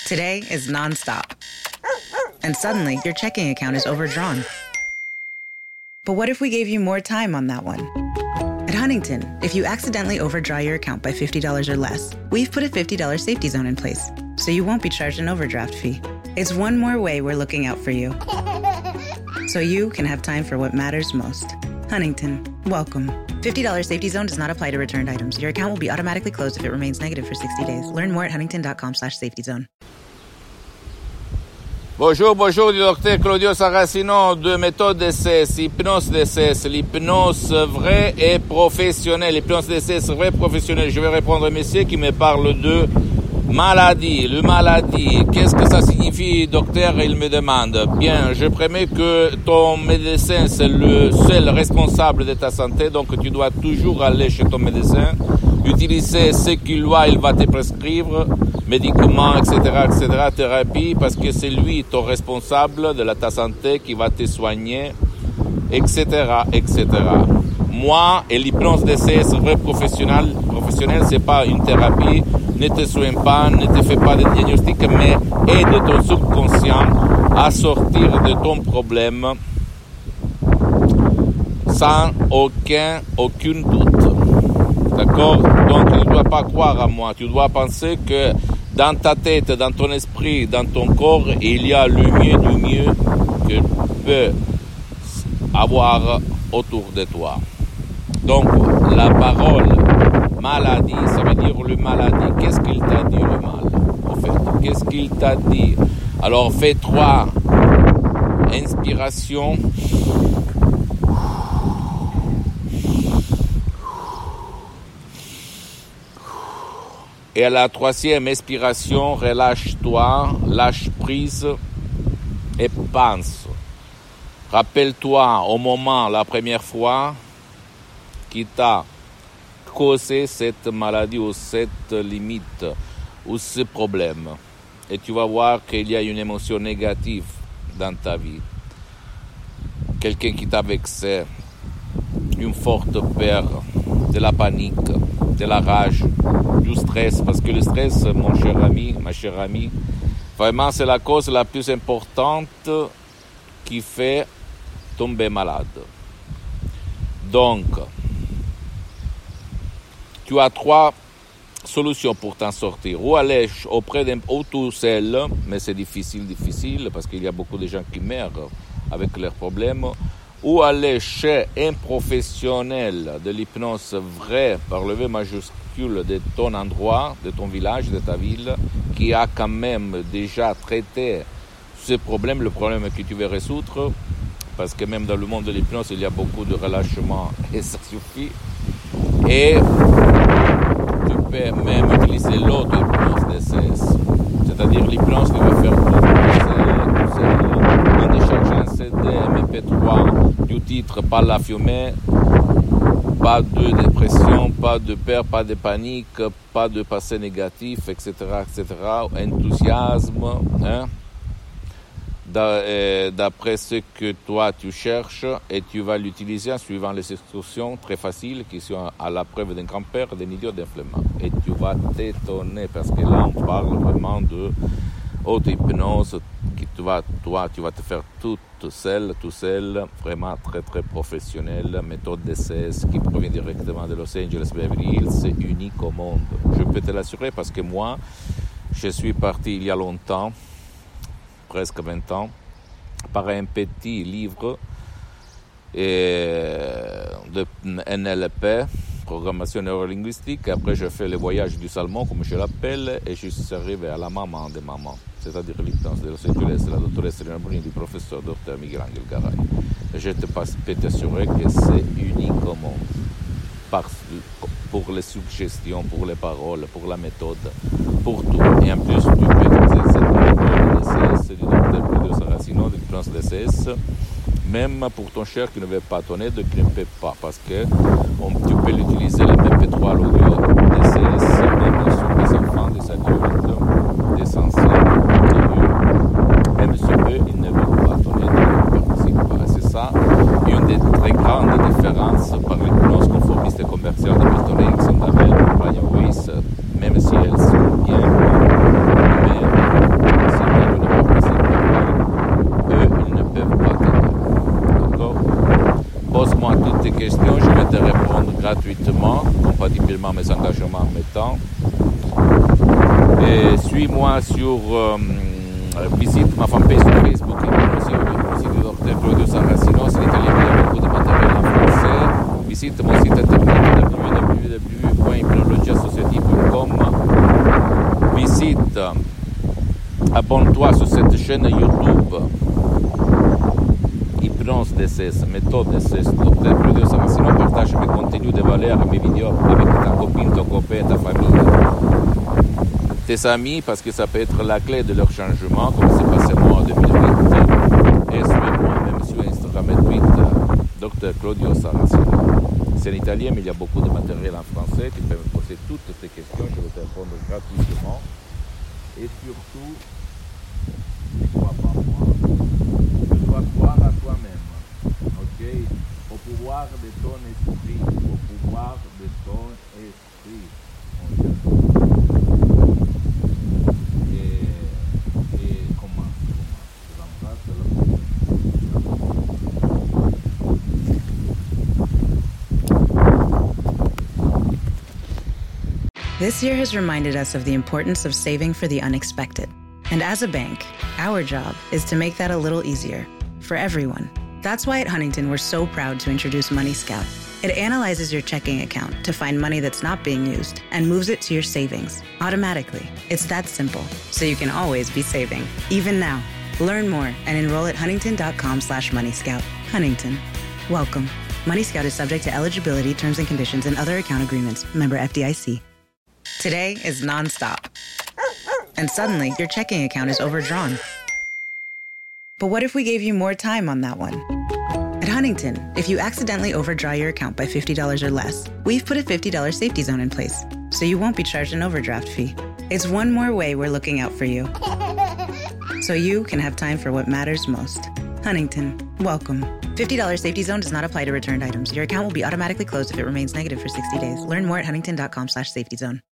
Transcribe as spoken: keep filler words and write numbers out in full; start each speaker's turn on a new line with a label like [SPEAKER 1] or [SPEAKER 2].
[SPEAKER 1] Today is nonstop. And suddenly, your checking account is overdrawn. But what if we gave you more time on that one? At Huntington, if you accidentally overdraw your account by fifty dollars or less, we've put a fifty dollars safety zone in place, so you won't be charged an overdraft fee. It's one more way we're looking out for you, so you can have time for what matters most. Huntington, welcome. fifty dollars safety zone does not apply to returned items. Your account will be automatically closed if it remains negative for sixty days. Learn more at huntington.com slash safety zone.
[SPEAKER 2] Bonjour, bonjour du docteur Claudio Saracino de méthode D C S, hypnose D C S, l'hypnose vraie et professionnelle, l'hypnose D C S vraie et professionnelle. Je vais répondre à un monsieur qui me parle de maladie, le maladie. Qu'est-ce que ça signifie, docteur? Il me demande. Bien, je promets que ton médecin, c'est le seul responsable de ta santé, donc tu dois toujours aller chez ton médecin, utiliser ce qu'il doit, il va te prescrire, médicaments, et cetera, et cetera, thérapie, parce que c'est lui ton responsable de la, ta santé qui va te soigner, et cetera, et cetera. Moi, et l'hypnose D C S vrai professionnel, professionnel, c'est pas une thérapie, ne te soigne pas, ne te fais pas de diagnostic, mais aide ton subconscient à sortir de ton problème sans aucun, aucun doute. D'accord? Donc, tu ne dois pas croire à moi. Tu dois penser que dans ta tête, dans ton esprit, dans ton corps, il y a le mieux du mieux que tu peux avoir autour de toi. Donc, la parole maladie, ça veut dire le maladie. Qu'est-ce qu'il t'a dit, le mal, en fait? Qu'est-ce qu'il t'a dit? Alors, fais trois inspirations. Et à la troisième expiration, relâche-toi, lâche prise et pense. Rappelle-toi au moment, la première fois, qui t'a causé cette maladie ou cette limite ou ce problème. Et tu vas voir qu'il y a une émotion négative dans ta vie. Quelqu'un qui t'a vexé, une forte peur, de la panique, de la rage, du stress, parce que le stress, mon cher ami, ma chère amie, vraiment c'est la cause la plus importante qui fait tomber malade. Donc, tu as trois solutions pour t'en sortir. Ou aller auprès d'un ou tout seul, mais c'est difficile, difficile, parce qu'il y a beaucoup de gens qui meurent avec leurs problèmes. Ou aller chez un professionnel de l'hypnose vrai, par le V majuscule de ton endroit, de ton village, de ta ville, qui a quand même déjà traité ce problème, le problème que tu veux résoudre, parce que même dans le monde de l'hypnose, il y a beaucoup de relâchement et ça suffit. Et tu peux même utiliser l'autre hypnose D C S, c'est-à-dire l'hypnose qui va faire tout seul, en déchargeant un C D, M P trois, du titre, pas la fumée, pas de dépression, pas de peur, pas de panique, pas de passé négatif, et cetera, et cetera, enthousiasme, hein, d'après ce que toi tu cherches, et tu vas l'utiliser en suivant les instructions très faciles qui sont à la preuve d'un grand-père, d'un idiot, d'un flemmard. Et tu vas t'étonner parce que là on parle vraiment de auto-hypnose que tu vas, toi, tu vas te faire toute seule, tout seul, vraiment très très professionnel, méthode D C S qui provient directement de Los Angeles, Beverly Hills, c'est unique au monde. Je peux te l'assurer parce que moi, je suis parti il y a longtemps, presque vingt ans, par un petit livre et de N L P, programmation neurolinguistique. Après, je fais le voyage du salmon, comme je l'appelle, et je suis arrivé à la maman de maman, c'est-à-dire l'hypnose de Los Angeles, la doctoresse Elena Bruni, du professeur docteur Miguel Angel Garay. Et je te peux t'assurer que c'est unique au monde, parce, pour les suggestions, pour les paroles, pour la méthode, pour tout. Et en plus, tu peux utiliser cette méthode D C S du docteur Claudio Saracino, de l'hypnose D C S, même pour ton cher qui ne veut pas ton aide, qui ne peut pas, parce que on, tu peux l'utiliser, le M P trois, l'audio D C S, même sur des enfants, des adultes, des anciens, même sur eux, ils ne veulent pas ton aide, ils ne participent pas. C'est ça, une des très grandes différences par l'hypnose conformiste et commerciale de Milton Erickson, d'Abel, Brian Weiss, même si elles sont bien, mais réellement mes engagements en mes temps. Et suis-moi sur, euh, visite ma fanpage sur Facebook, visite le docteur Claudio Saracino, c'est l'italien, il y a beaucoup de matériel en français. Visite mon site internet w w w point hypnologie associative point com. Visite, abonne-toi sur cette chaîne YouTube. Hypnose D C S, méthode D C S, docteur Claudio Saracino, partage mes contenus de valeur et mes vidéos avec ta copine, ton copain, ta famille, tes amis, parce que ça peut être la clé de leur changement, comme c'est passé moi en deux mille huit. Et suis-moi même sur Instagram et Twitter, docteur Claudio Saracino. C'est en italien, mais il y a beaucoup de matériel en français. Tu peux me poser toutes tes questions, je vais te répondre gratuitement. Et surtout, ne crois pas moi. Tu dois croire à toi-même, ok? Au pouvoir de ton esprit, au pouvoir de ton esprit. Et, et comment? Je remplace la
[SPEAKER 1] This year has reminded us of the importance of saving for the unexpected. And as a bank, our job is to make that a little easier for everyone. That's why at Huntington, we're so proud to introduce Money Scout. It analyzes your checking account to find money that's not being used and moves it to your savings automatically. It's that simple, so you can always be saving, even now. Learn more and enroll at huntington.com slash moneyscout. Huntington. Welcome. Money Scout is subject to eligibility, terms and conditions, and other account agreements. Member F D I C. Today is nonstop. And suddenly, your checking account is overdrawn. But what if we gave you more time on that one? At Huntington, if you accidentally overdraw your account by fifty dollars or less, we've put a fifty dollars safety zone in place, so you won't be charged an overdraft fee. It's one more way we're looking out for you, so you can have time for what matters most. Huntington, welcome. fifty dollars safety zone does not apply to returned items. Your account will be automatically closed if it remains negative for sixty days. Learn more at huntington.com slash safety zone.